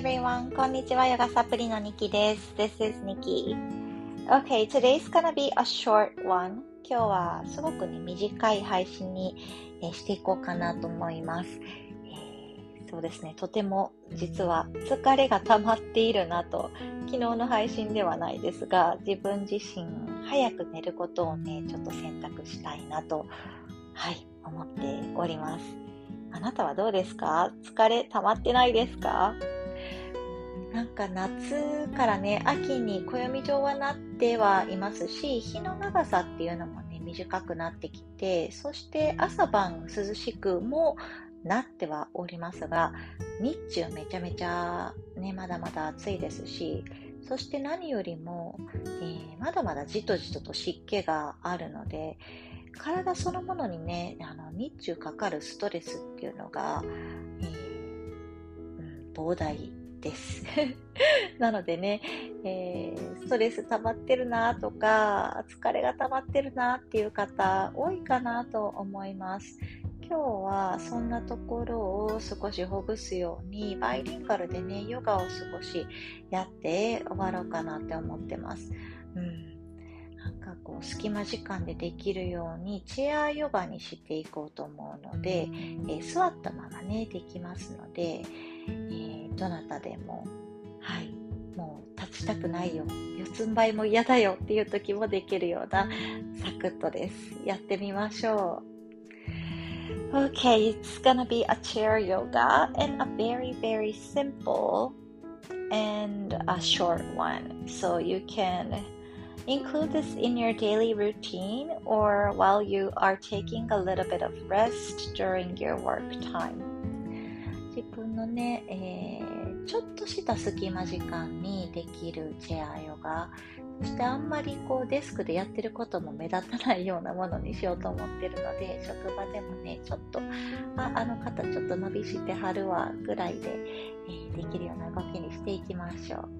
everyone. こんにちは、ヨガサプリのニキです。This is Nikki. Okay, today's gonna be a short one. 今日はすごくね、短い配信にしていこうかなと思います。そうですね、とても実は疲れが溜まっているなと、昨日の配信ではないですが、自分自身早く寝ることをね、ちょっと選択したいなと、思っております。あなたはどうですか？疲れ溜まってないですか？なんか夏からね、秋に暦上はなってはいますし、日の長さっていうのもね、短くなってきて、そして朝晩涼しくもなってはおりますが、日中めちゃめちゃね、まだまだ暑いですし、そして何よりも、まだまだじとじとと湿気があるので、体そのものにね、日中かかるストレスっていうのが、膨大ですなのでね、ストレス溜まってるなとか疲れが溜まってるなっていう方多いかなと思います。今日はそんなところを少しほぐすようにバイリンガルでね、ヨガを少しやって終わろうかなって思ってます。なんかこう隙間時間でできるようにチェアヨガにしていこうと思うので、座ったままねできますので、どなたでももう立ちたくないよ、四つん這いも嫌だよっていう時もできるようなサクッとです。やってみましょう。Okay, it's gonna be a chair yoga and a very very simple and a short one, so you can include this in your daily routine or while you are taking a little bit of rest during your work time. 自分のね、ちょっとした隙間時間にできるチェアヨガ、そしてあんまりこうデスクでやってることも目立たないようなものにしようと思ってるので、職場でもね、ちょっとあの方ちょっと伸びしてはるわぐらいで、できるような動きにしていきましょう。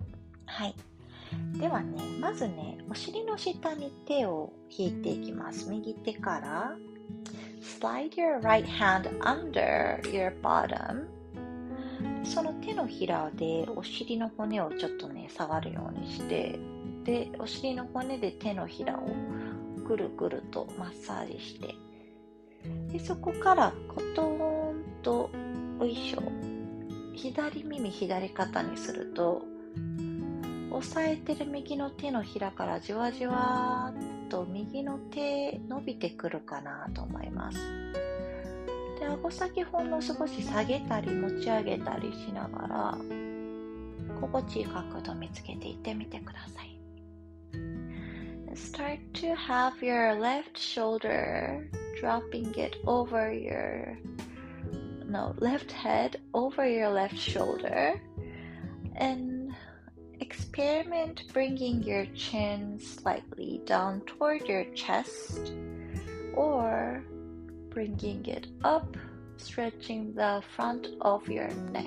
ではね、まずね、お尻の下に手を引いていきます。右手からSlide your right hand under your bottom. その手のひらでお尻の骨をちょっとね、触るようにして、で、お尻の骨で手のひらをぐるぐるとマッサージして、でそこからコトーンとおいしょ、左耳左肩にすると、押さえてる右の手のひらからじわじわっと右の手伸びてくるかなと思います。で、顎先ほんの少し下げたり持ち上げたりしながら心地いい角度見つけていってみてください。Start to have your left shoulder dropping it over your left head over your left shoulder and experiment bringing your chin slightly down toward your chest or bringing it up, stretching the front of your neck.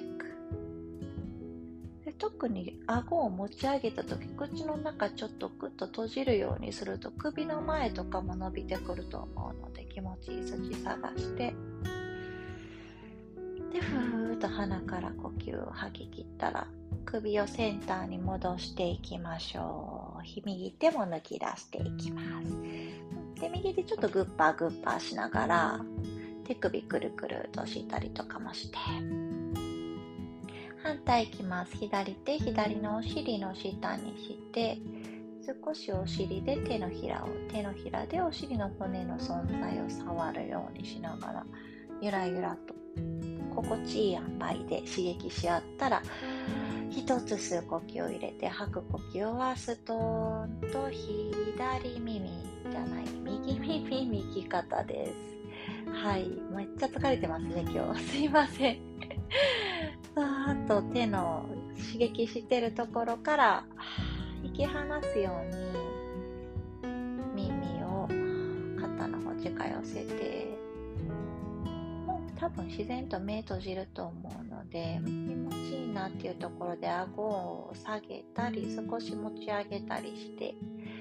で、特に顎を持ち上げたとき、口の中ちょっとグッと閉じるようにすると首の前とかも伸びてくると思うので、気持ちいい筋探して、で、ふーっと鼻から呼吸を吐き切ったら首をセンターに戻していきましょう。右手も抜き出していきます。で、右手ちょっとグッパーグッパーしながら手首くるくるとしたりとかもして、反対いきます。左手左のお尻の下にして、少しお尻で手のひらでお尻の骨の存在を触るようにしながら、ゆらゆらと心地いい塩梅で刺激し合ったら、一つ吸う呼吸を入れて、吐く呼吸はストーンと左耳じゃない右耳右肩です。めっちゃ疲れてますね今日。すいません。さーっと手の刺激してるところから引き離すように耳を肩の方近寄せて、多分自然と目閉じると思うので、気持ちいいなっていうところで顎を下げたり少し持ち上げたりして、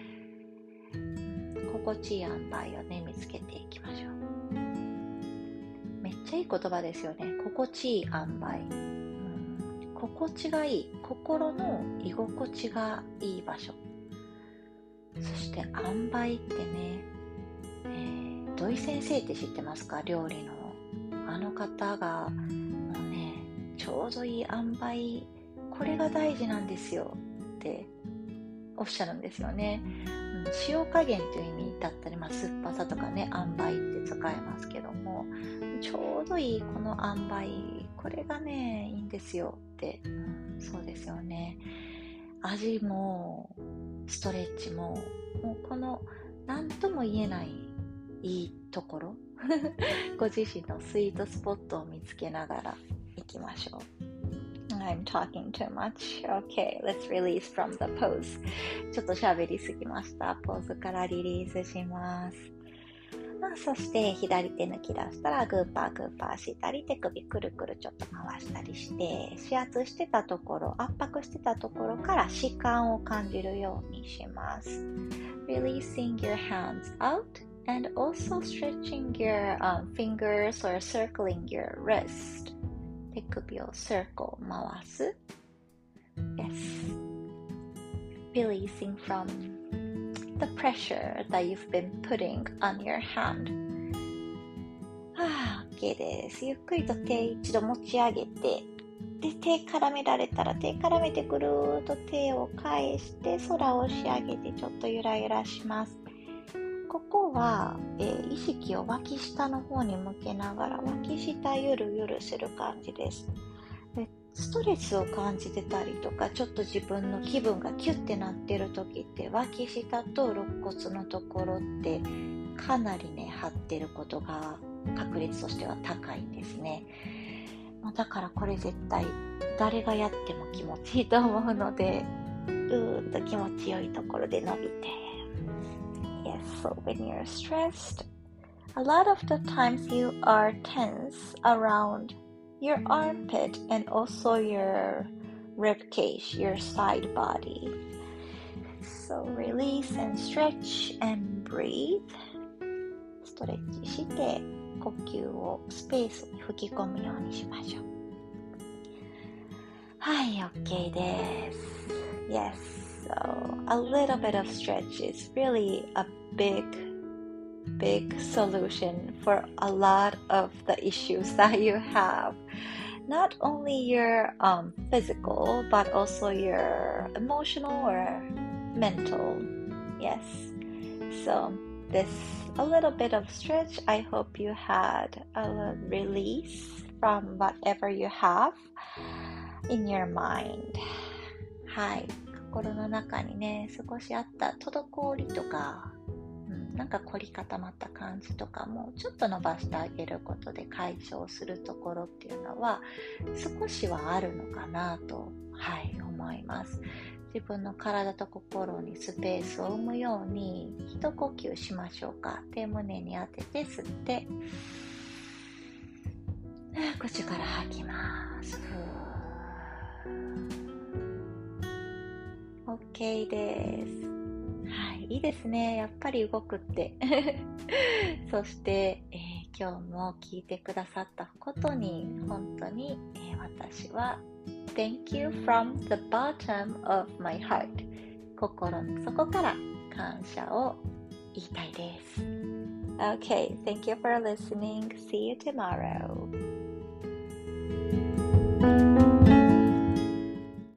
心地いい塩梅をね見つけていきましょう。めっちゃいい言葉ですよね。心地いい塩梅、 心地がいい、心の居心地がいい場所。そして塩梅ってね、土井先生って知ってますか？料理のあの方がもうね、ちょうどいい塩梅、これが大事なんですよっておっしゃるんですよね。塩加減という意味だったり、酸っぱさとかね、塩梅って使えますけども、ちょうどいいこの塩梅、これがね、いいんですよって、そうですよね。味もストレッチも、もうこの何とも言えないいいところご自身のスイートスポットを見つけながら行きましょう。I'm talking too much. Okay, let's release from the pose. ちょっと喋りすぎました。ポーズからリリースします。そして左手抜き出したらグーパーグーパーしたり、手首くるくるちょっと回したりして、指圧してたところ、圧迫してたところから弛緩を感じるようにします。Releasing your hands out and also stretching your fingers or circling your wrist. 手首を circle 回す。Yes. Releasing from the pressure that you've been putting on your hand. OK です。ゆっくりと手一度持ち上げて、で、手絡められたら手絡めてぐるーっと手を返して空を押し上げてちょっとゆらゆらします。ここは、意識を脇下の方に向けながら脇下ゆるゆるする感じです。で、ストレスを感じてたりとか、ちょっと自分の気分がキュッてなってる時って脇下と肋骨のところってかなりね張ってることが確率としては高いんですね。だからこれ絶対誰がやっても気持ちいいと思うので、ぐーっと気持ちよいところで伸びて。Yes, so when you're stressed, a lot of the times you are tense around your armpit and also your rib cage, your side body. So release and stretch and breathe. ストレッチして呼吸をスペースに吹き込むようにしましょう。はい、OK です。Yes, so a little bit of stretch is really a big solution for a lot of the issues that you have. Not only your physical, but also your emotional or mental. Yes. So this a little bit of stretch. I hope you had a release from whatever you have in your mind. はい。心の中にね、少しあった滞りとか、なんか凝り固まった感じとかもちょっと伸ばしてあげることで解消するところっていうのは少しはあるのかなと、思います。自分の体と心にスペースを生むように一呼吸しましょうか。手胸に当てて吸って口から吐きます。OK です。いいですね。やっぱり動くってそして、今日も聞いてくださったことに本当に、私は Thank you from the bottom of my heart 心の底から感謝を言いたいです。Okay, thank you for listening. See you tomorrow.